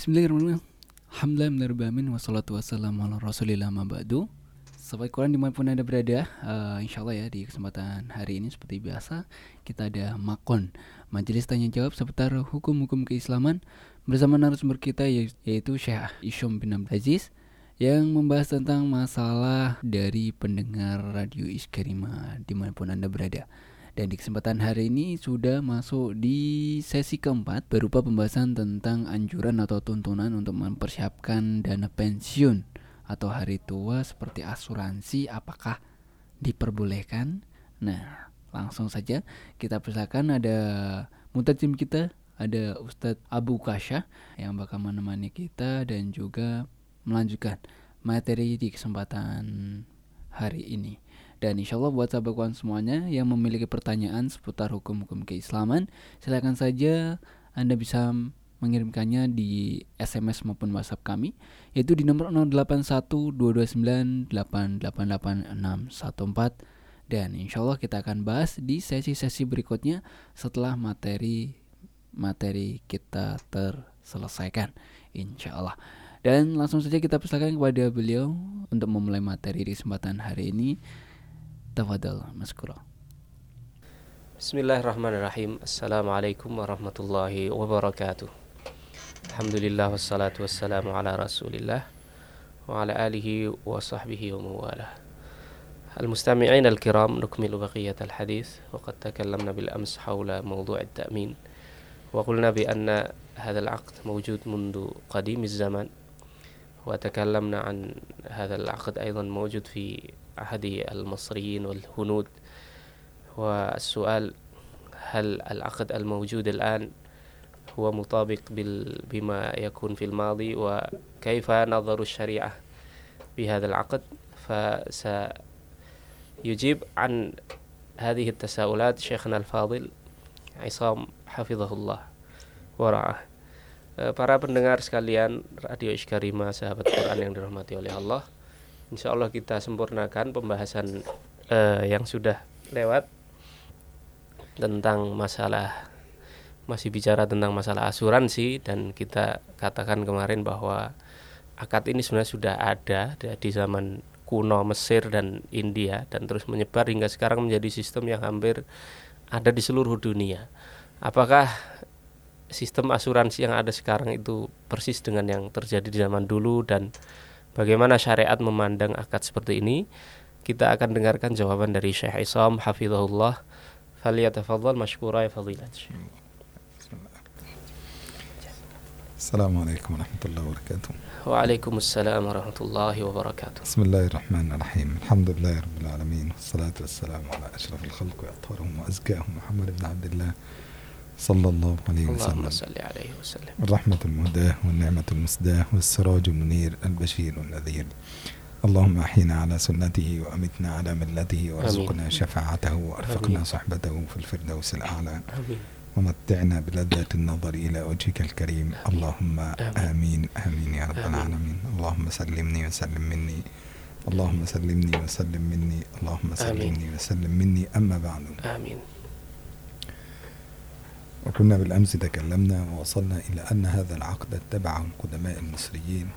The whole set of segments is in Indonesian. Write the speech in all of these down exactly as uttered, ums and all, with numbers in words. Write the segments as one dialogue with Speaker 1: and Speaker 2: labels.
Speaker 1: Bismillahirrahmanirrahim. Alhamdulillahirrahmanirrahim. Wassalatu wassalamu ala rasulillah ma ba'du. Sahabat Quran dimanapun Anda berada, uh, insya Allah ya di kesempatan hari ini seperti biasa kita ada Makon, majelis tanya jawab seputar hukum-hukum keislaman bersama narasumber kita yaitu Syekh Isyam bin Abdul Aziz yang membahas tentang masalah dari pendengar radio Iskarima dimanapun Anda berada. Dan di kesempatan hari ini sudah masuk di sesi keempat berupa pembahasan tentang anjuran atau tuntunan untuk mempersiapkan dana pensiun atau hari tua seperti asuransi apakah diperbolehkan. Nah, langsung saja kita persilakan ada mutadzim kita, ada Ustadz Abu Kasya yang bakal menemani kita dan juga melanjutkan materi di kesempatan hari ini. Dan insya Allah buat sahabat kawan semuanya yang memiliki pertanyaan seputar hukum-hukum keislaman, silakan saja Anda bisa mengirimkannya di S M S maupun WhatsApp kami, yaitu di nomor nol delapan satu dua dua sembilan delapan delapan delapan enam satu empat. Dan insya Allah kita akan bahas di sesi-sesi berikutnya setelah materi materi kita terselesaikan, insya Allah. Dan langsung saja kita persilakan kepada beliau untuk memulai materi di kesempatan hari ini. Tafadhal maskura.
Speaker 2: Bismillahirrahmanirrahim. Assalamualaikum warahmatullahi wabarakatuh. Alhamdulillah wassalatu wassalamu ala rasulillah wa ala alihi wa sahbihi wa mawalah. Al-mustami'in al-kiram, nukmilu baqiyat al-hadith wa qad takallamna bil-ams hawla mawdu' at-ta'min wa qulna bi anna hadha al-'aqd mawjud mundu qadim az-zaman wa takallamna an hadha al-'aqd aydan mawjud fi أحد المصريين والهنود. والسؤال هل العقد الموجود الآن هو مطابق بما يكون في الماضي وكيف نظر الشريعة بهذا العقد؟ فسيجيب عن هذه التساؤلات شيخنا الفاضل عصام حفظه الله ورعاه. Para pendengar sekalian Radio Iskarima, sahabat Quran yang dirahmati oleh Allah, insya Allah kita sempurnakan pembahasan uh, yang sudah lewat tentang masalah, masih bicara tentang masalah asuransi, dan kita katakan kemarin bahwa akad ini sebenarnya sudah ada di zaman kuno Mesir dan India dan terus menyebar hingga sekarang menjadi sistem yang hampir ada di seluruh dunia. Apakah sistem asuransi yang ada sekarang itu persis dengan yang terjadi di zaman dulu dan bagaimana syariat memandang akad seperti ini? Kita akan dengarkan jawaban dari Syekh Isam hafizahullah. Falyatafadhal mashkura ya fadilat.
Speaker 3: Assalamualaikum warahmatullahi wabarakatuh.
Speaker 2: Waalaikumsalam warahmatullahi wabarakatuh.
Speaker 3: Bismillahirrahmanirrahim. Alhamdulillahi rabbil alamin. Wassalatu wassalamu ala asyrafil khalqi wa atharihim wa azkahum Muhammad ibn Abdullah صلى الله عليه وسلم.
Speaker 2: اللهم صل عليه وسلم.
Speaker 3: الرحمة المهداة والنعمة المسداة والسراج المنير البشير النذير. اللهم أحينا على سنته وأمتنا على ملته وارزقنا شفاعته وأرفقنا صحبته في الفردوس الأعلى.
Speaker 2: آمين.
Speaker 3: ومتعنا بلذة النظر إلى وجهك الكريم. اللهم آمين آمين يا رب العالمين. اللهم سلمني وسلم مني. اللهم سلمني وسلم مني. اللهم سلمني وسلم مني. أما بعد.
Speaker 2: آمين.
Speaker 3: وكنا بالأمس تكلمنا ووصلنا إلى أن هذا العقد اتبعه القدماء المصريين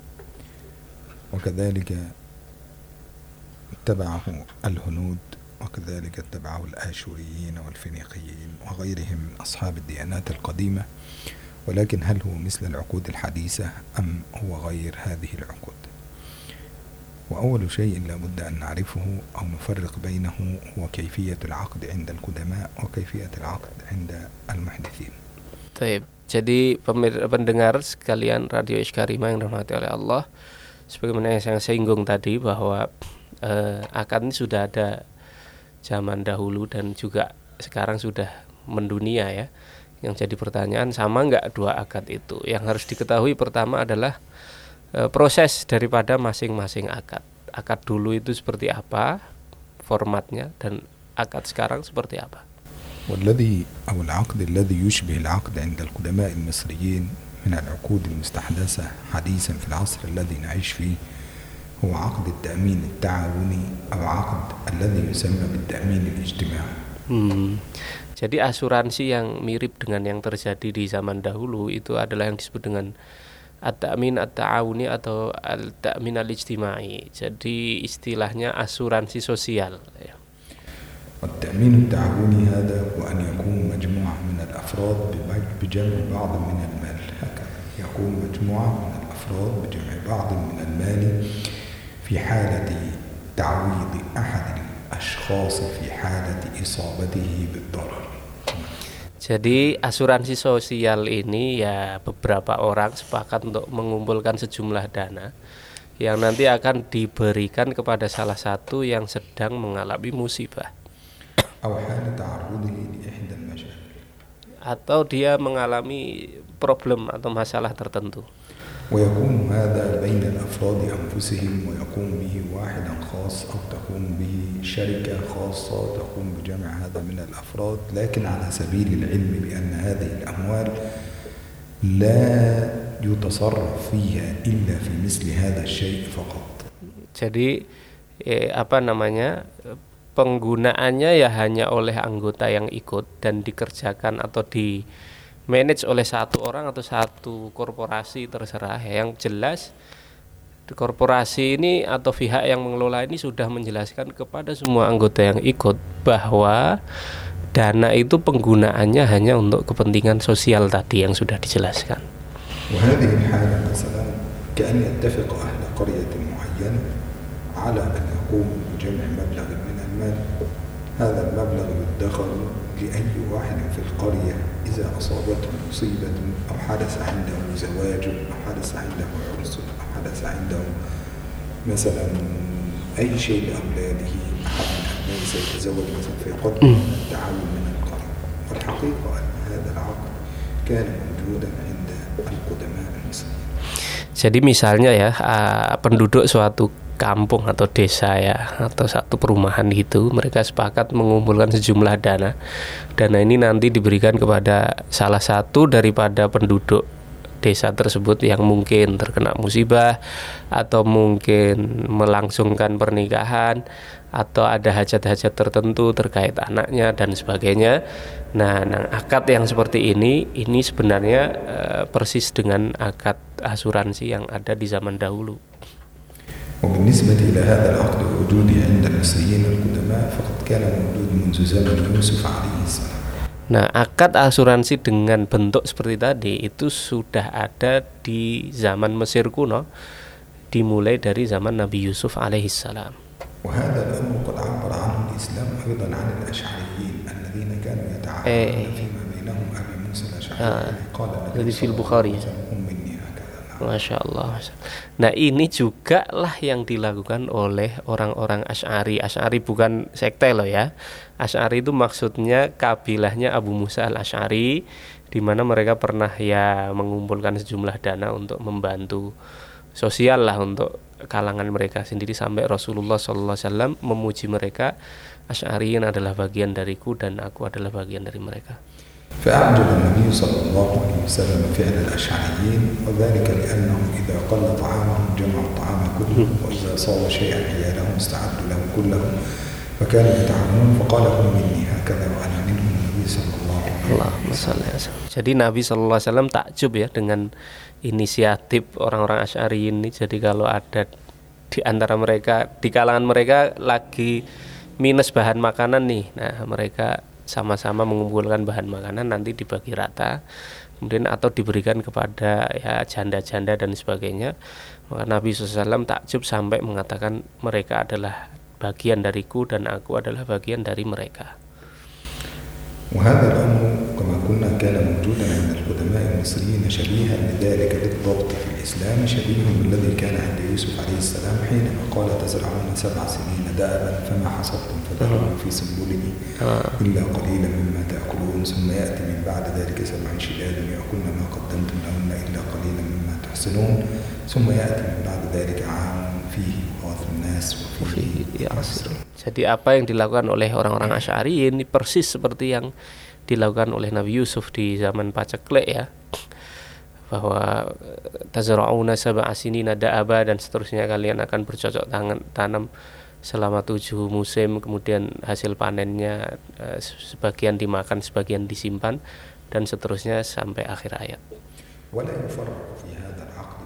Speaker 3: وكذلك اتبعه الهنود وكذلك اتبعه الآشوريين والفينيقيين وغيرهم من أصحاب الديانات القديمة. ولكن هل هو مثل العقود الحديثة أم هو غير هذه العقود؟ وأول شيء لابد أن نعرفه أو نفرق بينه هو كيفية العقد عند القدماء وكيفية العقد عند المحدثين.
Speaker 2: Baik, jadi pendengar sekalian Radio Iskarima yang dirahmati oleh Allah, sebagaimana yang saya singgung tadi bahwa eh, akad ini sudah ada zaman dahulu dan juga sekarang sudah mendunia ya. Yang jadi pertanyaan, sama nggak dua akad itu? Yang harus diketahui pertama adalah proses daripada masing-masing akad. Akad dulu itu seperti apa formatnya dan akad sekarang seperti apa.
Speaker 3: والذي أو العقد الذي يشبه العقد عند القدماء المصريين من العقود المستحدثة حديثا في العصر الذي نعيش فيه هو عقد التأمين التعاوني أو عقد الذي يسمى بالتأمين الاجتماعي.
Speaker 2: Hmm. Jadi asuransi yang mirip dengan yang terjadi di zaman dahulu itu adalah yang disebut dengan at-ta'min at-ta'awuni atau al-ta'min al-ijtimai. Jadi istilahnya asuransi sosial ya.
Speaker 3: والتأمين التعاوني هذا هو أن يكون مجموعة من الأفراد بجمع بعض من المال. هكذا يكون مجموعة من الأفراد بجمع بعض من المال في حالة تعويض أحد الأشخاص في حالة إصابته بالضرر.
Speaker 2: Jadi asuransi sosial ini ya beberapa orang sepakat untuk mengumpulkan sejumlah dana yang nanti akan diberikan kepada salah satu yang sedang mengalami musibah atau dia mengalami problem atau masalah tertentu.
Speaker 3: ويكون هذا بين الأفراد أنفسهم ويقوم به واحد خاص أو تقوم به شركة خاصة تقوم بجمع هذا من الأفراد، لكن على سبيل العلم بأن هذه الأموال لا يتصرف فيها إلا في مثل هذا الشيء فقط.
Speaker 2: Jadi eh, apa namanya penggunaannya ya hanya oleh anggota yang ikut dan dikerjakan atau di manage oleh satu orang atau satu korporasi terserah. Yang jelas korporasi ini atau pihak yang mengelola ini sudah menjelaskan kepada semua anggota yang ikut bahwa dana itu penggunaannya hanya untuk kepentingan sosial tadi yang sudah dijelaskan.
Speaker 3: وهذه الحالة مثلا كأن يتفق أهل قرية معينة على أن يقوموا بجمع مبلغ من المال. هذا المبلغ يدخر لأي واحد في القرية إذا أصابته مصيبة أو حدث عنده زواج أو حدث عنده عرس أو حدث عنده مثلا أي شيء لأولاده، أحد من أبنائه سيتزوج مثلا فيقدم التعاون من القرية. والحقيقة أن هذا العقد كان موجودا عند القدماء المصريين.
Speaker 2: Jadi misalnya ya penduduk suatu kampung atau desa ya atau satu perumahan itu mereka sepakat mengumpulkan sejumlah dana. Dana ini nanti diberikan kepada salah satu daripada penduduk desa tersebut yang mungkin terkena musibah atau mungkin melangsungkan pernikahan atau ada hajat-hajat tertentu terkait anaknya dan sebagainya. Nah, nah akad yang seperti ini ini sebenarnya uh, persis dengan akad asuransi yang ada di zaman dahulu.
Speaker 3: وبالنسبة إلى هذا العقد الوجودي عند المصريين القدماء فقد كان موجود منذ زمن يوسف عليه السلام.
Speaker 2: Nah, akad asuransi dengan bentuk seperti tadi itu sudah ada di zaman Mesir kuno, dimulai dari zaman Nabi Yusuf alaihissalam.
Speaker 3: وهذا الأمر قد عبر عنه الإسلام أيضا عن الأشعريين الذين كانوا يتعاملون فيما بينهم أبي موسى الأشعري قال النبي صلى الله عليه وسلم مني هكذا.
Speaker 2: Masya Allah. Nah, ini juga lah yang dilakukan oleh orang-orang Asy'ari. Asy'ari bukan sekte loh ya. Asy'ari itu maksudnya kabilahnya Abu Musa al-Asy'ari, di mana mereka pernah ya mengumpulkan sejumlah dana untuk membantu sosial lah untuk kalangan mereka sendiri, sampai Rasulullah shallallahu alaihi wasallam memuji mereka, Asy'ariyin adalah bagian dariku dan aku adalah bagian dari mereka.
Speaker 3: فأعجب النبي صلى الله عليه وسلم فعل الأشعريين، وذلك لأنهم إذا قل طعامهم جمعوا الطعام كله، وإذا صاب شيئا عيالهم استعدوا له كله، فكانوا يتعاونون فقال هم مني هكذا وأنا منهم النبي صلى الله عليه وسلم.
Speaker 2: Jadi Nabi shallallahu alaihi wasallam takjub ya dengan inisiatif orang-orang Asy'ari ini. Jadi kalau ada di antara mereka, di kalangan mereka lagi minus bahan makanan nih, nah mereka sama-sama mengumpulkan bahan makanan, nanti dibagi rata kemudian atau diberikan kepada ya janda-janda dan sebagainya. Maka Nabi shallallahu alaihi wasallam takjub sampai mengatakan mereka adalah bagian dariku dan aku adalah bagian dari mereka.
Speaker 3: وهذا الأمر كما قلنا كان موجودا عند القدماء المصريين شبيها لذلك بالضبط في الإسلام، شبيه بالذي كان عند يوسف عليه السلام حينما قال تزرعون سبع سنين دأبا فما حصدتم فذروا في سنبله إلا قليلا مما تأكلون ثم يأتي من بعد ذلك سبع شداد يأكلن ما قدمتم لهن إلا قليلا مما تحسنون ثم يأتي من بعد ذلك عام فيه يغاث الناس وفيه يعصرون.
Speaker 2: Jadi apa yang dilakukan oleh orang-orang Asy'ari ini persis seperti yang dilakukan oleh Nabi Yusuf di zaman paceklik ya, bahwa tazra'una sab'a sinina da'aba dan seterusnya, kalian akan bercocok tangan tanam selama tujuh musim, kemudian hasil panennya eh, sebagian dimakan, sebagian disimpan dan seterusnya sampai akhir ayat.
Speaker 3: ولا يفرق في هذا العقد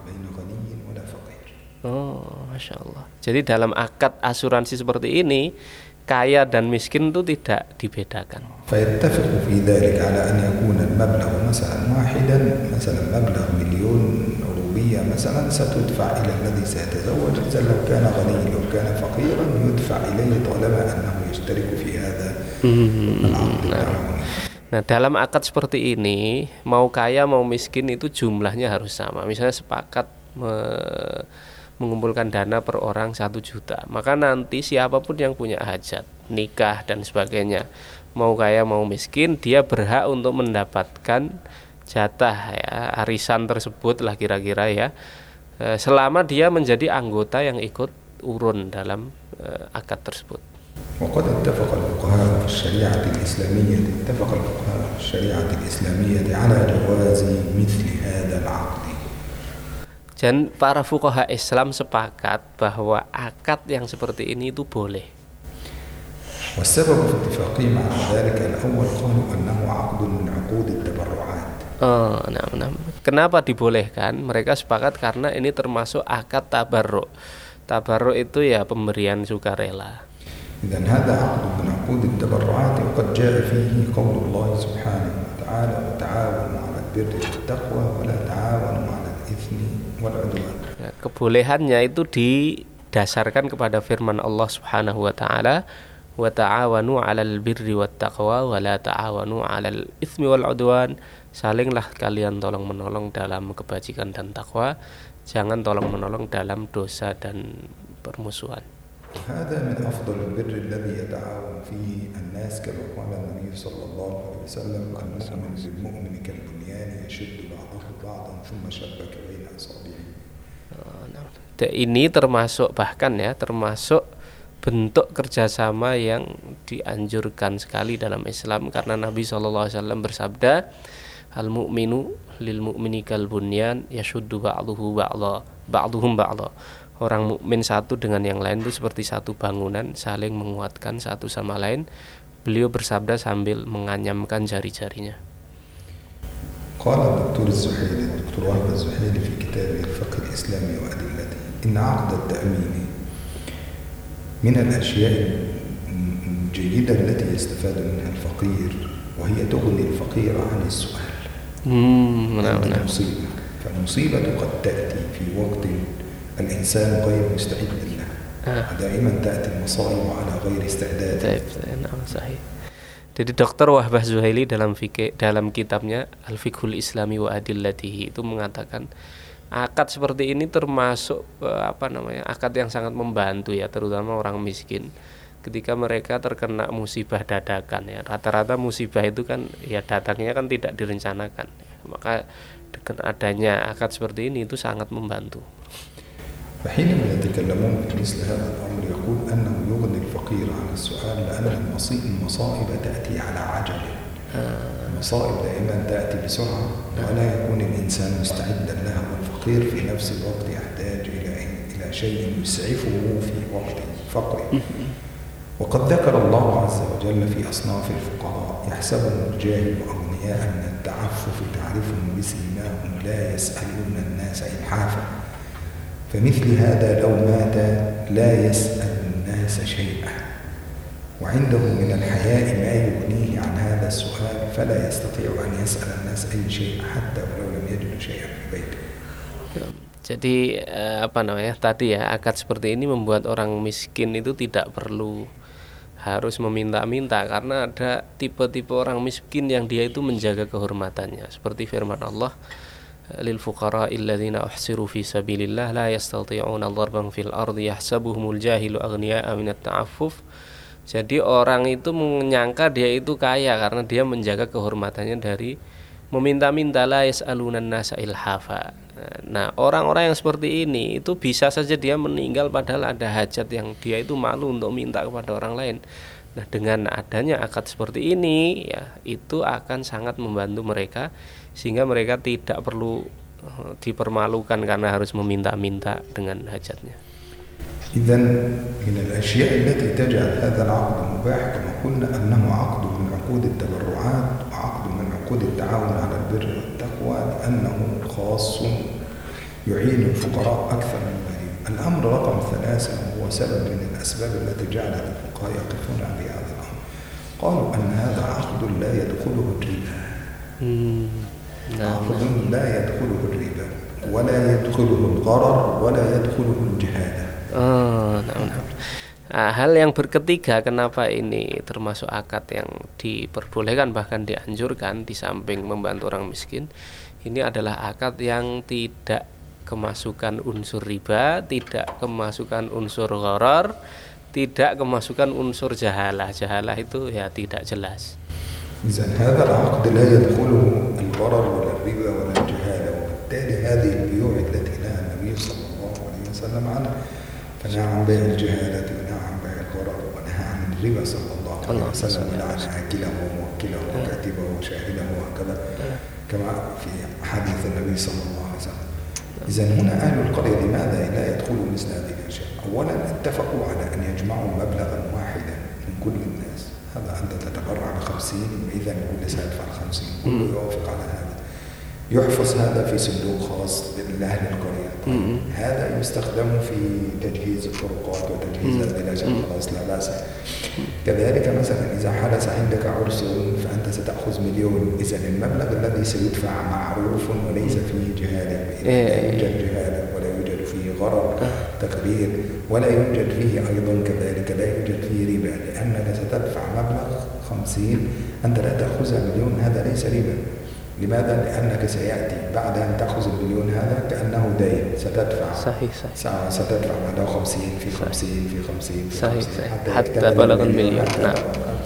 Speaker 2: Oh, masya Allah. Jadi dalam akad asuransi seperti ini, kaya dan miskin itu tidak dibedakan.
Speaker 3: فيتفق في ذلك على أن يكون المبلغ مثلا واحدا، مثلا مبلغ مليون روبية مثلا ستدفع إلى الذي سيتزوج، إذا لو كان غني لو كان فقيرا يدفع إليه طالما أنه يشترك في هذا العقد التعاوني.
Speaker 2: Nah, dalam akad seperti ini, mau kaya mau miskin itu jumlahnya harus sama. Misalnya sepakat me- mengumpulkan dana per orang satu juta, maka nanti siapapun yang punya hajat, nikah dan sebagainya, mau kaya mau miskin, dia berhak untuk mendapatkan jatah ya, arisan tersebut lah kira-kira ya, selama dia menjadi anggota yang ikut urun dalam uh, akad tersebut.
Speaker 3: وقد اتفق الفقهاء في الشريعة الإسلامية اتفق الفقهاء في الشريعة الإسلامية على جواز مثل هذا العقد.
Speaker 2: Dan para fuqaha Islam sepakat bahwa akad yang seperti ini itu boleh.
Speaker 3: والسبب في اتفاقهم على ذلك الأول قالوا أنه عقد من عقود التبرعات.
Speaker 2: Oh, nah, nah. Kenapa dibolehkan? Mereka sepakat karena ini termasuk akad tabarruk. Tabarruk itu ya pemberian sukarela.
Speaker 3: إذن هذا عقد من عقود التبرعات وقد جاء فيه قول الله سبحانه وتعالى وتعاونوا على البر والتقوى ولا تعاونوا على الإثم والعدوان.
Speaker 2: Ya, kebolehannya itu didasarkan kepada firman Allah Subhanahu wa taala, wa ta'awanu 'alal birri wat taqwa wa la ta'awanu 'alal itsmi wal 'udwan. Salinglah kalian tolong-menolong dalam kebajikan dan takwa, jangan tolong-menolong dalam dosa dan permusuhan.
Speaker 3: هذا من أفضل البر الذي يتعاون فيه الناس كما قال النبي صلى الله عليه وسلم المؤمن بالمؤمن كالبنيان يشد بعضه بعضا ثم شبك بين أصابعه.
Speaker 2: Ini termasuk bahkan ya termasuk bentuk kerjasama yang dianjurkan sekali dalam Islam, karena Nabi shallallahu alaihi wasallam bersabda, al mu'minu lil mu'mini kal bunyan yashuddu ba'duhu ba'dha ba'duhum ba'dha. Orang mukmin satu dengan yang lain itu seperti satu bangunan, saling menguatkan satu sama lain. Beliau bersabda sambil menganyamkan jari-jarinya.
Speaker 3: قال الدكتور الزحيلي الدكتور وهب الزحيلي في كتابه الفقه الإسلامي وأدلته إن عقد التأمين من الأشياء الجيدة التي يستفاد منها الفقير وهي تغني الفقير عن السؤال.
Speaker 2: Hmm, benar-benar.
Speaker 3: المصيبة فالمصيبة قد تأتي في وقت الإنسان غير مستعد لها. دائما تأتي المصائب على غير استعداد.
Speaker 2: Nah, sahih. Jadi Doktor Wahbah Zuhaili dalam fikih dalam kitabnya Al-Fiqhul Islami wa Adillatihi itu mengatakan akad seperti ini termasuk apa namanya akad yang sangat membantu ya, terutama orang miskin ketika mereka terkena musibah dadakan ya. Rata-rata musibah itu kan ya datangnya kan tidak direncanakan, maka dengan adanya akad seperti ini itu sangat membantu.
Speaker 3: فحينما يتكلمون في مثل هذا الأمر يقول أنه يغني الفقير عن السؤال لأن المصائب تأتي على عجل. المصائب دائما تأتي بسرعة ولا يكون الإنسان مستعدا لها، والفقير في نفس الوقت يحتاج إلى إلى شيء يسعفه في وقت فقره. وقد ذكر الله عز وجل في أصناف الفقراء يحسبهم الجاهل أغنياء من التعفف تعرفهم بسيماهم لا يسألون الناس إلحافا. فمثل هذا لو مات لا يسأل الناس شيئا وعنده من الحياء ما يغنيه عن هذا السؤال فلا يستطيع أن يسأل الناس أي شيء حتى ولو لم يجد شيئا في بيته.
Speaker 2: Jadi apa namanya tadi ya, akad seperti ini membuat orang miskin itu tidak perlu harus meminta-minta, karena ada tipe-tipe orang miskin yang dia itu menjaga kehormatannya, seperti firman Allah, lil fuqara alladziina uhsiru fi sabilillah la yastati'una darban fil ardi yahsabuhumul jahilu aghniya'a minat ta'affuf. Jadi orang itu menyangka dia itu kaya karena dia menjaga kehormatannya dari meminta-minta, la yas'alunan nasa ilhafa. Nah, orang-orang yang seperti ini itu bisa saja dia meninggal padahal ada hajat yang dia itu malu untuk minta kepada orang lain. Nah, dengan adanya akad seperti ini ya, itu akan sangat membantu mereka sehingga mereka tidak perlu dipermalukan karena harus meminta-minta dengan hajatnya.
Speaker 3: إذن من الأشياء التي تجعل هذا العقد مباح كما قلنا أنه عقد من عقود التبرعات وعقد من عقود التعاون على البر والتقوى لأنه خاص يعين الفقراء أكثر من غيرهم. الأمر رقم ثلاثة هو سبب من الأسباب التي جعلت الفقهاء يقفون عند هذا الأمر. قالوا أن هذا عقد لا يدخله الربا. عقد لا يدخله الربا ولا يدخله الغرر ولا يدخله الجهالة.
Speaker 2: Oh, nah, nah. Nah, hal yang berketiga, kenapa ini termasuk akad yang diperbolehkan bahkan dianjurkan di samping membantu orang miskin, ini adalah akad yang tidak kemasukan unsur riba, tidak kemasukan unsur gharar, tidak kemasukan unsur jahalah. Jahalah itu ya tidak jelas.
Speaker 3: إذن هذا العقد لا يدخله الغرر ولا الربا ولا الجهالة، وبالتالي هذه البيوع التي نهى النبي صلى الله عليه وسلم عنها، فنهى عن بيع الجهالة ونهى عن بيع الغرر ونهى عن الربا صلى الله عليه وسلم ولعن آكله وموكله وكاتبه وشاهده وهكذا كما في حديث النبي صلى الله عليه وسلم. إذن هنا أهل القرية لماذا لا يدخلوا مثل هذه الأشياء؟ أولا اتفقوا على أن يجمعوا مبلغا واحدا من كل الناس. هذا أنت تتبرع بخمسين، إذا كل سيدفع الخمسين، كله يوافق على هذا. يحفظ هذا في صندوق خاص لأهل القرية. هذا يستخدم في تجهيز الطرقات وتجهيز البلاد، خلاص لا بأس. كذلك مثلا إذا حدث عندك عرس فأنت ستأخذ مليون، إذا المبلغ الذي سيدفع معروف وليس فيه جهالة، لا يوجد جهالة ولا يوجد فيه غرر تقرير ولا يوجد فيه أيضا كذلك لا يوجد فيه ربا، لأنك ستدفع مبلغ خمسين أنت لا تأخذها مليون، هذا ليس ربا. لماذا؟ لأنك سيأتي بعد أن تأخذ المليون هذا كأنه دين، ستدفع
Speaker 2: صحيح صحيح
Speaker 3: ستدفع بعد خمسين في خمسين في خمسين في
Speaker 2: صحيح
Speaker 3: خمسين
Speaker 2: حتى, حتى بلغ المليون. Nah.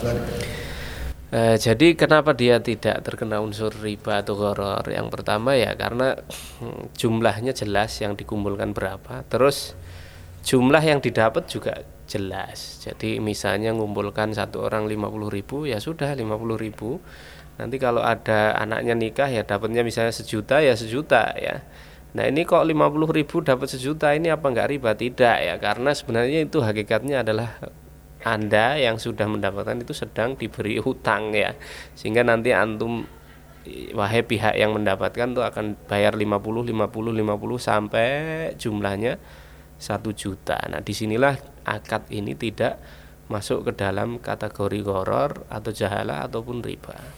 Speaker 2: Uh, jadi kenapa dia tidak terkena unsur riba atau gharar? Yang pertama ya karena hmm, jumlahnya jelas yang dikumpulkan berapa, terus jumlah yang didapat juga jelas. Jadi misalnya ngumpulkan satu orang lima puluh ribu, ya sudah lima puluh ribu. Nanti kalau ada anaknya nikah ya dapatnya misalnya sejuta ya sejuta ya. Nah ini kok lima puluh ribu dapat sejuta, ini apa enggak riba? Tidak ya, karena sebenarnya itu hakikatnya adalah Anda yang sudah mendapatkan itu sedang diberi hutang ya. Sehingga nanti antum, wahai pihak yang mendapatkan tuh akan bayar lima puluh, lima puluh, lima puluh sampai jumlahnya satu juta. Nah disinilah akad ini tidak masuk ke dalam kategori gharar atau jahalah ataupun riba.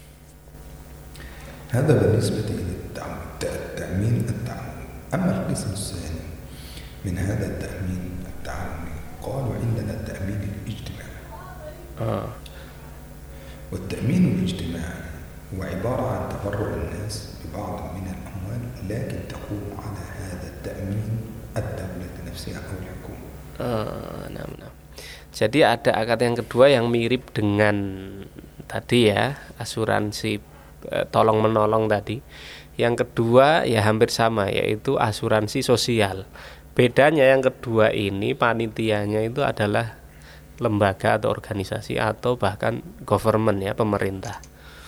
Speaker 3: هذا بالنسبة للتأمين التعاوني. أما القسم الثاني من هذا التأمين التعاوني قالوا عندنا التأمين الاجتماعي. آه. والتأمين الاجتماعي هو عبارة عن تبرع الناس ببعض من الأموال، لكن تقوم على هذا التأمين الدولة نفسها أو الحكومة.
Speaker 2: آه نعم نعم. Jadi ada akad yang kedua yang mirip dengan tadi ya, asuransi tolong menolong tadi. Yang kedua ya hampir sama, yaitu asuransi sosial. Bedanya yang kedua ini panitianya itu adalah lembaga atau organisasi atau bahkan government ya, pemerintah.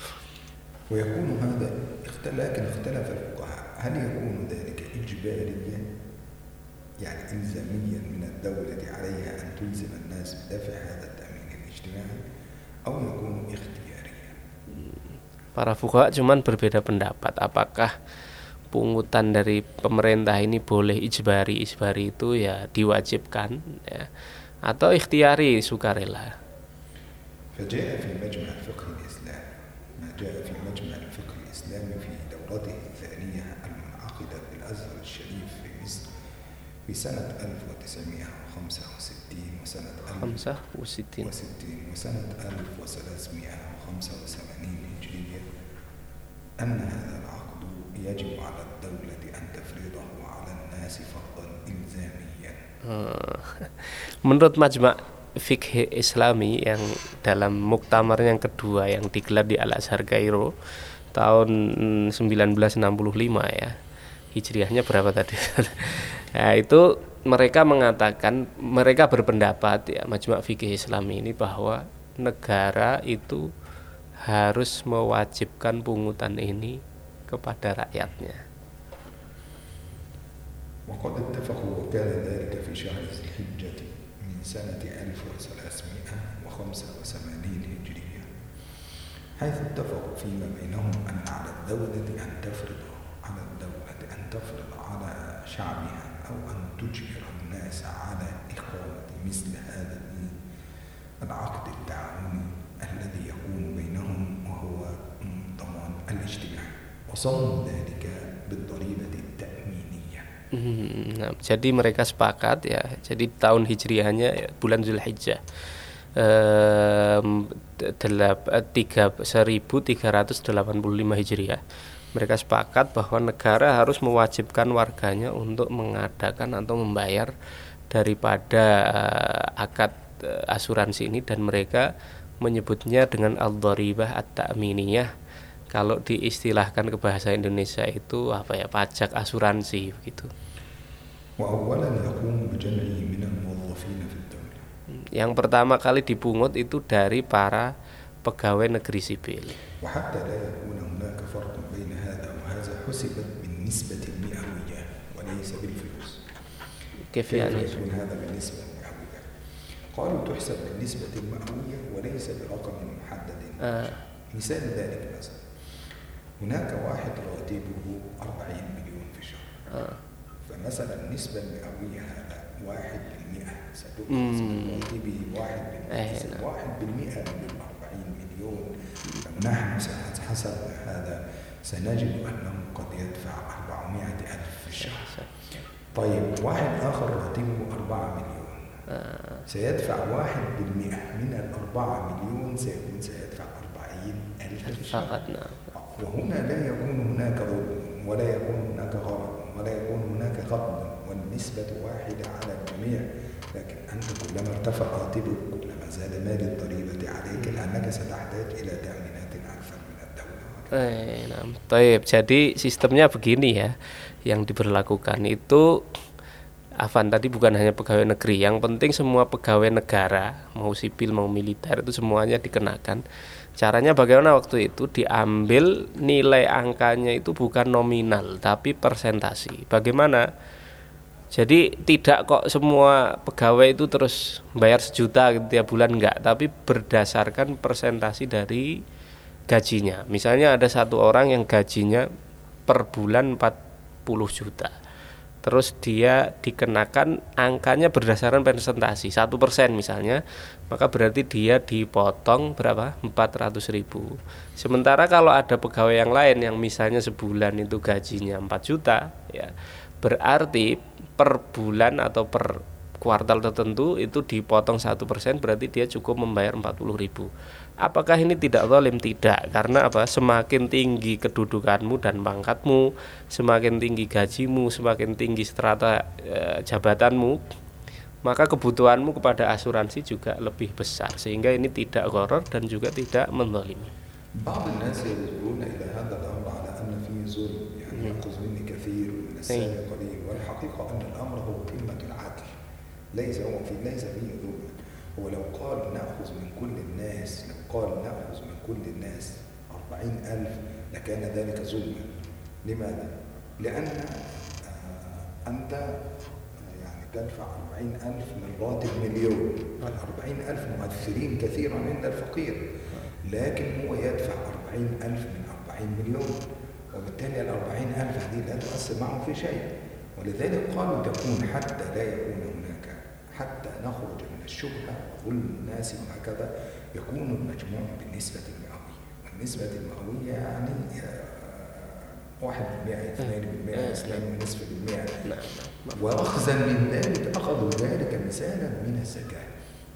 Speaker 3: ويكون هذا لكن اختلف الفقهاء هل يكون ذلك إجباريا يعني إلزاميا من الدولة عليها أن تلزم الناس بدفع هذا التأمين الاجتماعي أو يكون اختياريا.
Speaker 2: Para fuqaha cuman berbeda pendapat, apakah pungutan dari pemerintah ini boleh ijbari, ijbari itu ya diwajibkan ya, atau ikhtiari sukarela.
Speaker 3: فجاء في مجمع الفقه الإسلامي ما جاء في مجمع الفقه الإسلامي في دورته الثانية المنعقدة في الأزهر الشريف في مصر في سنة ألف وتسعمائة وخمسة وستين وسنة
Speaker 2: خمسة وستين
Speaker 3: وسنة ألف وثلاثمائة وخمسة وثمانين هجرية أن هذا العقد يجب على الدولة أن تفرضه على الناس فرضا إلزاميا.
Speaker 2: Menurut Majma' Fikih Islami yang dalam muktamar yang kedua yang digelar di Al-Azhar Kairo tahun sembilan belas enam puluh lima ya, hijriahnya berapa tadi? Nah, itu mereka mengatakan, mereka berpendapat ya, Majma' Fikih Islami ini bahwa negara itu harus mewajibkan pungutan ini kepada rakyatnya.
Speaker 3: وقد اتفقوا وكان ذلك في شهر ذي الحجة من سنة ألف وثلاثمائة وخمسة وثمانين هجرية، حيث اتفقوا فيما بينهم أن على الدولة أن تفرض على الدولة أن تفرض على شعبها أو أن تجبر الناس على إقامة مثل هذا العقد التعاوني الذي يكون بينهم وهو ضمان الاجتماع، وصون ذلك بالضريبة التأمينية.
Speaker 2: Nah, jadi mereka sepakat ya. Jadi tahun hijriahnya ya, bulan Zulhijjah ehm, seribu tiga ratus delapan puluh lima hijriah. Mereka sepakat bahwa negara harus mewajibkan warganya untuk mengadakan atau membayar daripada uh, akad uh, asuransi ini, dan mereka menyebutnya dengan al-dharibah at-ta'miniyah. Kalau diistilahkan ke bahasa Indonesia itu apa ya, pajak asuransi begitu. Yang pertama kali dipungut itu dari para pegawai negeri sipil. كيف يعني؟
Speaker 3: قالوا تحسب بالنسبة المئوية وليس برقم محدد. آه. مثال ذلك مثلا هناك واحد راتبه أربعين مليون في الشهر. آه. فمثلا النسبة المئوية هذا واحد بالمئة ستكون راتبه واحد بالمئة واحد بالمئة من أربعين مليون. نحن سنحسب هذا سنجد أنه قد يدفع أربعمائة ألف في الشهر. طيب واحد آخر راتبه أربعة مليون آه. سيدفع واحد بالمئة من الأربعة مليون سيكون سيدفع أربعين ألف
Speaker 2: فقط. نعم.
Speaker 3: وهنا لا يكون هناك ظلم ولا يكون هناك غرض ولا يكون هناك غضب والنسبة واحدة على الجميع، لكن أنت كلما ارتفع راتبك كلما زاد مال الضريبة عليك لأنك ستحتاج إلى تأمينات أكثر من الدولة.
Speaker 2: Eh, nah, baik. Jadi sistemnya begini ya, yang diberlakukan itu Afan tadi bukan hanya pegawai negeri, yang penting semua pegawai negara mau sipil mau militer itu semuanya dikenakan. Caranya bagaimana waktu itu? Diambil nilai angkanya itu bukan nominal tapi persentasi. Bagaimana? Jadi tidak kok semua pegawai itu terus bayar sejuta gitu tiap bulan, enggak, tapi berdasarkan persentasi dari gajinya. Misalnya ada satu orang yang gajinya per bulan empat puluh juta, terus dia dikenakan angkanya berdasarkan persentasi satu persen misalnya, maka berarti dia dipotong berapa? empat ratus ribu. Sementara kalau ada pegawai yang lain yang misalnya sebulan itu gajinya empat juta, ya berarti per bulan atau per kuartal tertentu itu dipotong satu persen, berarti dia cukup membayar empat puluh ribu. Apakah ini tidak zalim? Tidak, karena apa? Semakin tinggi kedudukanmu dan pangkatmu, semakin tinggi gajimu, semakin tinggi strata e, jabatanmu, maka kebutuhanmu kepada asuransi juga lebih besar, sehingga ini tidak gharar dan juga tidak menzalimi.
Speaker 3: بعض الناس ينظرون إلى هذا الأمر على أن فيه ظلم، يعني يأخذ مني كثير من السابق قليل، والحقيقة أن الأمر هو قمة العدل، ليس هو في ليس فيه ظلم. هو لو قال نأخذ من كل الناس لو قال نأخذ من كل الناس أربعين ألف لكان ذلك ظلما. لماذا؟ لأن أنت يعني تدفع أربعين ألف من راتب مليون، الأربعين ألف مؤثرين كثيرا عند الفقير، لكن هو يدفع أربعين ألف من أربعين مليون، وبالتالي الأربعين ألف هذه لا تؤثر معه في شيء. ولذلك قالوا تكون حتى لا يكون هناك حتى نخرج من الشبهة وظلم الناس وهكذا يكون المجموع بالنسبة المئوية، والنسبة المئوية يعني واحد بالمئة اثنين بالمئة اثنين ونصف بالمئة. وأخذا من ذلك أخذوا ذلك مثالا من الزكاة،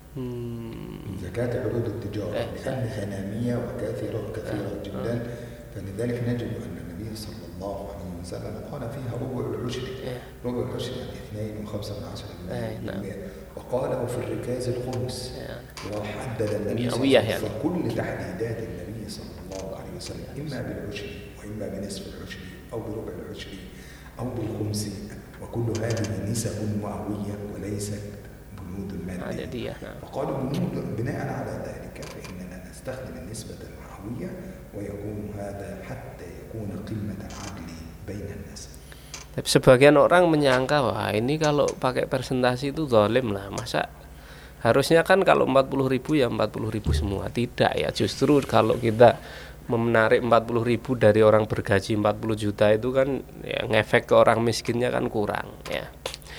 Speaker 3: من زكاة عروض التجارة، لأن ثنامية وكثيرة وكثيرة جدا، فلذلك نجد أن النبي صلى الله عليه وسلم قال فيها ربع العشر، ربع العشر يعني اثنين وخمسة من عشرة بالمئة، وقاله في الركاز الخمس، وحدد النبي صلى الله عليه وسلم كل تحديدات النبي صلى الله عليه وسلم إما بالعشر وإما بنصف العشر أو بربع العشر أو بالخمس، وكل هذه نسب مئوية وليست بنود المادية. وقالوا بنود بناء على ذلك فإننا نستخدم النسبة المئوية ويكون هذا حتى يكون قمة العدل بين الناس.
Speaker 2: Tapi sebagian orang menyangka wah ini kalau pakai persentase itu zalim lah, masa harusnya kan kalau empat puluh ribu ya empat puluh ribu semua. Tidak ya, justru kalau kita menarik empat puluh ribu dari orang bergaji empat puluh juta itu kan ya, ngefek ke orang miskinnya kan kurang ya.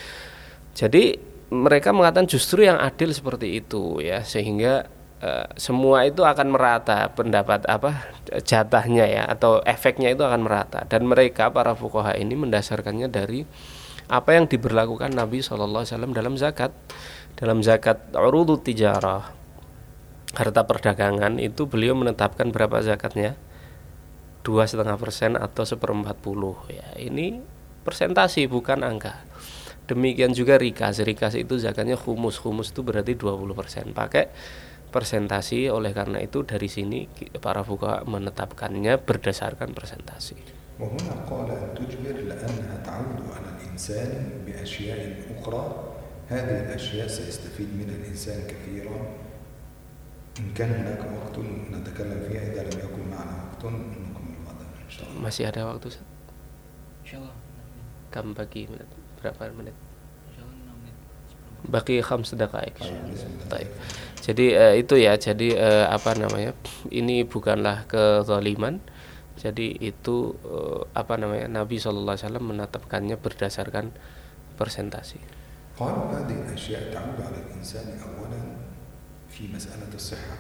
Speaker 2: Jadi mereka mengatakan justru yang adil seperti itu ya, sehingga uh, semua itu akan merata pendapat apa jatahnya ya atau efeknya itu akan merata. Dan mereka para fuqaha ini mendasarkannya dari apa yang diberlakukan Nabi shallallahu alaihi wasallam dalam zakat. Dalam zakat urudut tijarah, harta perdagangan itu beliau menetapkan berapa zakatnya? dua koma lima persen atau seperempat puluh ya. Ini persentasi bukan angka. Demikian juga rikas, rikas itu zakatnya khumus, khumus itu berarti dua puluh persen. Pakai persentasi, oleh karena itu dari sini para fuqaha menetapkannya berdasarkan persentasi.
Speaker 3: وهنا قال أن تجبر لأنها تعود على الإنسان بأشياء أخرى هذه الأشياء سيستفيد منها الإنسان كثيرا إن كان هناك وقت نتكلم فيها إذا لم يكن معنا وقت نكمل غدا إن شاء الله.
Speaker 2: Masih ada waktu?
Speaker 1: Insyaallah.
Speaker 2: Kam bagi menit berapa menit?
Speaker 1: Insyaallah enam menit.
Speaker 2: Bagi khams daqaiq. Baik. Jadi uh, itu ya, jadi uh, apa namanya? Ini bukanlah kezaliman. Jadi itu uh, apa namanya? Nabi shallallahu alaihi wasallam menetapkannya berdasarkan persentasi.
Speaker 3: قال هذه الأشياء تعود على الإنسان أولا في مسألة الصحة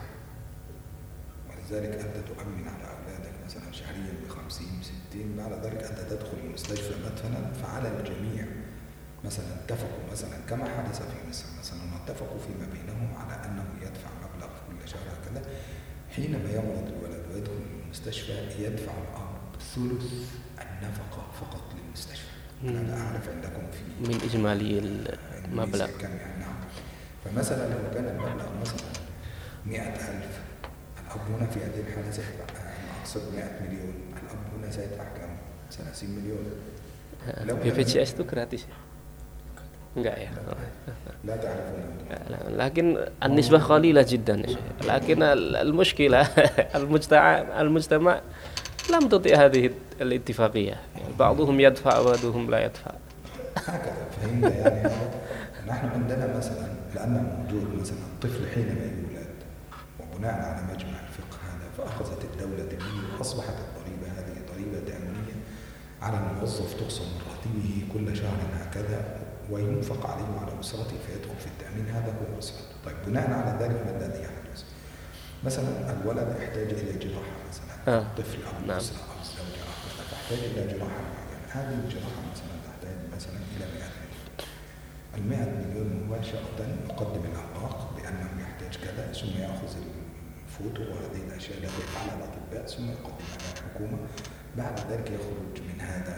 Speaker 3: ولذلك أنت تؤمن على أولادك مثلا شهريا بخمسين ستين بعد ذلك أنت تدخل المستشفى مثلا فعلى الجميع مثلا اتفقوا مثلا كما حدث في مصر مثلا اتفقوا فيما بينهم على أنه يدفع مبلغ كل شهر هكذا حينما يمرض الولد ويدخل المستشفى يدفع الأب ثلث النفقة فقط للمستشفى. أنا لا أعرف عندكم في
Speaker 2: من إجمالي المبلغ
Speaker 3: كم يعني. نعم. فمثلا لو كان المبلغ مثلا مئة ألف الأب هنا في هذه الحالة سيدفع أقصد مئة مليون الأب هنا سيدفع كم؟ ثلاثين مليون.
Speaker 2: B P J S itu gratis ya? Enggak ya?
Speaker 3: لا تعرفون.
Speaker 2: لكن النسبة قليلة جدا. لكن المشكلة المجتمع المجتمع لم تطيع هذه الاتفاقية. بعضهم يدفع وبعضهم لا يدفع.
Speaker 3: هكذا فهمنا يعني. نحن عندنا مثلا لأن موجود مثلا الطفل حينما يولد وبناء على مجمع الفقه هذا فأخذت الدولة منه وأصبحت الضريبة هذه ضريبة تأمينية على الموظف تقسم من راتبه كل شهر هكذا وينفق عليه وعلى أسرته فيدخل في التأمين. هذا هو أسرته. طيب بناء على ذلك ما الذي يحدث؟ مثلا الولد يحتاج إلى جراحة مثلا
Speaker 2: آه.
Speaker 3: طفل أو أسرة أو زوجة أو تحتاج إلى جراحة معينة. هذه الجراحة مثلا تحتاج مثلا إلى مئة مليون. المئة مليون مباشرة يقدم الأوراق بأنه يحتاج كذا ثم يأخذ الفوتو وهذه الأشياء التي يفعلها الأطباء ثم يقدمها إلى الحكومة. بعد ذلك يخرج من هذا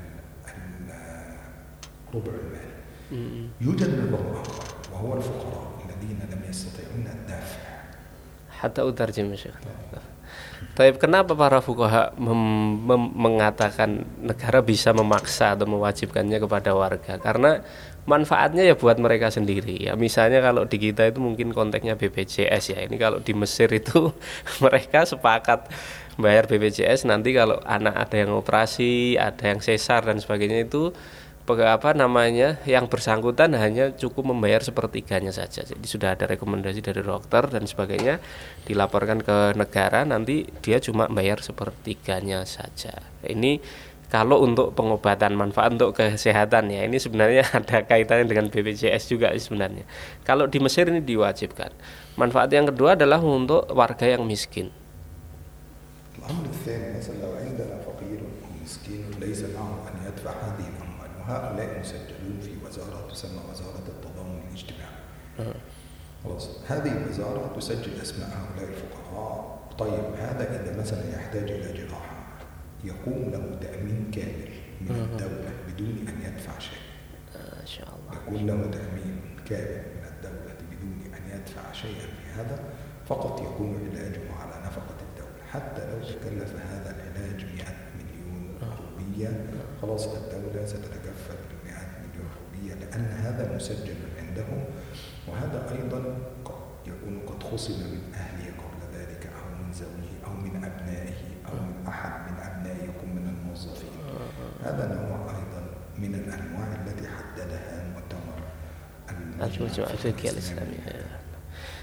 Speaker 3: الربع المالي. يوجد نظام آخر وهو الفقراء الذين لم يستطيعون الدفع.
Speaker 2: Hatta utarjim Syekh. Tapi kenapa para fuqaha mem- mem- mengatakan negara bisa memaksa atau mewajibkannya kepada warga? Karena manfaatnya ya buat mereka sendiri. Ya misalnya kalau di kita itu mungkin konteksnya B P J S ya. Ini kalau di Mesir itu mereka sepakat bayar B P J S, nanti kalau anak ada yang operasi, ada yang sesar dan sebagainya itu apa namanya yang bersangkutan hanya cukup membayar sepertiganya saja. Jadi sudah ada rekomendasi dari dokter dan sebagainya, dilaporkan ke negara, nanti dia cuma bayar sepertiganya saja. Ini kalau untuk pengobatan, manfaat untuk kesehatan ya, ini sebenarnya ada kaitannya dengan B P J S juga sebenarnya. Kalau di Mesir ini diwajibkan. Manfaat yang kedua adalah untuk warga yang miskin.
Speaker 3: الأمر الثاني مثلا لو عندنا فقير ومسكين ليس معه أن يدفع هذه الأموال وهؤلاء مسجلون في وزارة تسمى وزارة التضامن الاجتماعي. خلاص هذه الوزارة تسجل أسماء هؤلاء الفقراء. طيب هذا إذا مثلا يحتاج إلى جراحة يقوم له تأمين كامل من الدولة بدون أن يدفع شيء.
Speaker 2: ما شاء الله.
Speaker 3: يكون له تأمين كامل من الدولة بدون أن يدفع شيئا في هذا، فقط يكون علاجه على نفقة الدولة. حتى لو تكلف هذا العلاج مئة مليون روبية خلاص الدولة ستتكفل بمئة مليون روبية لأن هذا مسجل عندهم. وهذا أيضا قد يكون قد خصم من أهله قبل ذلك أو من زوجه أو من أبنائه أو من أحد من أبنائكم من الموظفين. هذا نوع أيضا من الأنواع التي حددها مؤتمر
Speaker 2: المجمع الفقهي الإسلامي.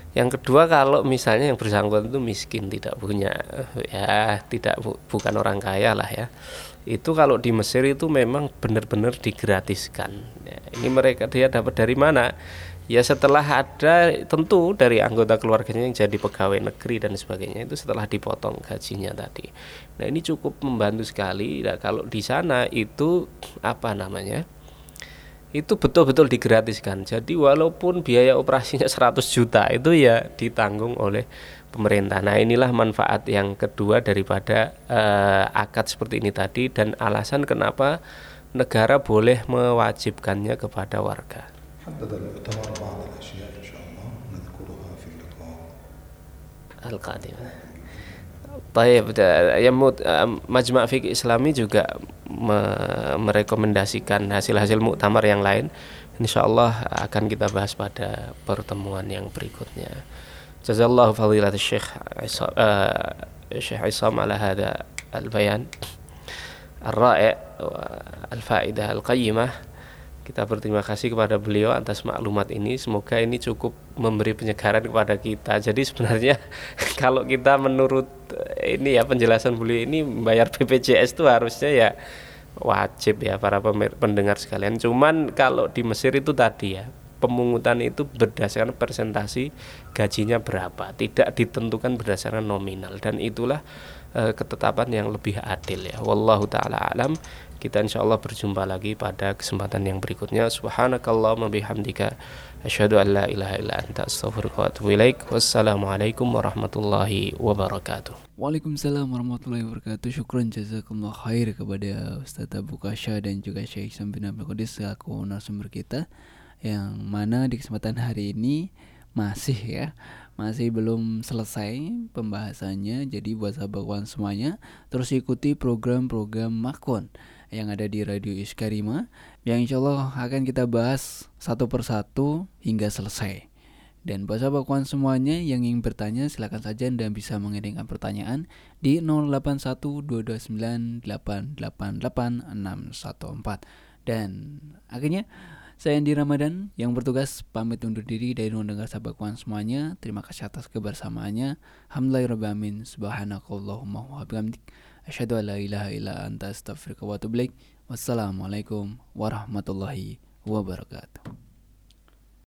Speaker 2: Yang kedua, kalau misalnya yang bersangkutan itu miskin, tidak punya, ya tidak bu, bukan orang kaya lah ya. Itu kalau di Mesir itu memang benar-benar digratiskan. Ya, ini mereka dia dapat dari mana? Ya setelah ada tentu dari anggota keluarganya yang jadi pegawai negeri dan sebagainya, itu setelah dipotong gajinya tadi. Nah ini cukup membantu sekali. Nah, kalau di sana itu apa namanya? Itu betul-betul digratiskan. Jadi walaupun biaya operasinya seratus juta itu ya ditanggung oleh pemerintah. Nah inilah manfaat yang kedua daripada uh, akad seperti ini tadi, dan alasan kenapa negara boleh mewajibkannya kepada warga. Al-Qadim. Baik, ya Majma' Fiqh Islami juga me- merekomendasikan hasil-hasil muktamar yang lain. Insyaallah akan kita bahas pada pertemuan yang berikutnya. Jazallahu fadilat Syekh Isam, uh, Syekh Isam ala hada al-bayan ar-ra'i' al-fa'idah al-qayyimah. Kita berterima kasih kepada beliau atas maklumat ini. Semoga ini cukup memberi penyegaran kepada kita. Jadi sebenarnya kalau kita menurut ini ya penjelasan beliau ini, membayar B P J S itu harusnya ya wajib ya para pendengar sekalian. Cuman kalau di Mesir itu tadi ya, pemungutan itu berdasarkan persentasi gajinya berapa, tidak ditentukan berdasarkan nominal, dan itulah uh, ketetapan yang lebih adil ya. Wallahu taala alam. Kita insyaallah berjumpa lagi pada kesempatan yang berikutnya. Subhanakallahumma bihamdika asyhadu an la ilaha illa anta astaghfiruka wa atubu ilaik. Wassalamualaikum warahmatullahi wabarakatuh.
Speaker 1: Waalaikumsalam warahmatullahi wabarakatuh. Syukran jazakumullah khair kepada Ustaz Abu Kasya dan juga Syekh Isam bin Abdul Qadir selaku narasumber kita, yang mana di kesempatan hari ini masih ya masih belum selesai pembahasannya. Jadi buat sahabat kawan semuanya, terus ikuti program-program Makon yang ada di Radio Iskarima, yang insya Allah akan kita bahas satu persatu hingga selesai. Dan buat sahabat kawan semuanya yang ingin bertanya, silakan saja Anda bisa mengirimkan pertanyaan di nol delapan satu dua dua sembilan delapan delapan delapan enam satu empat. Dan akhirnya saya Andi Ramadan yang bertugas pamit undur diri dari mendengar sahabat kawan semuanya. Terima kasih atas kebersamaannya. Alhamdulillahirabbil alamin. Subhanakallahumma wa bihamdik asyhadu an la ilaha illa anta astaghfiruka wa atubu ilaik. Wassalamualaikum warahmatullahi wabarakatuh.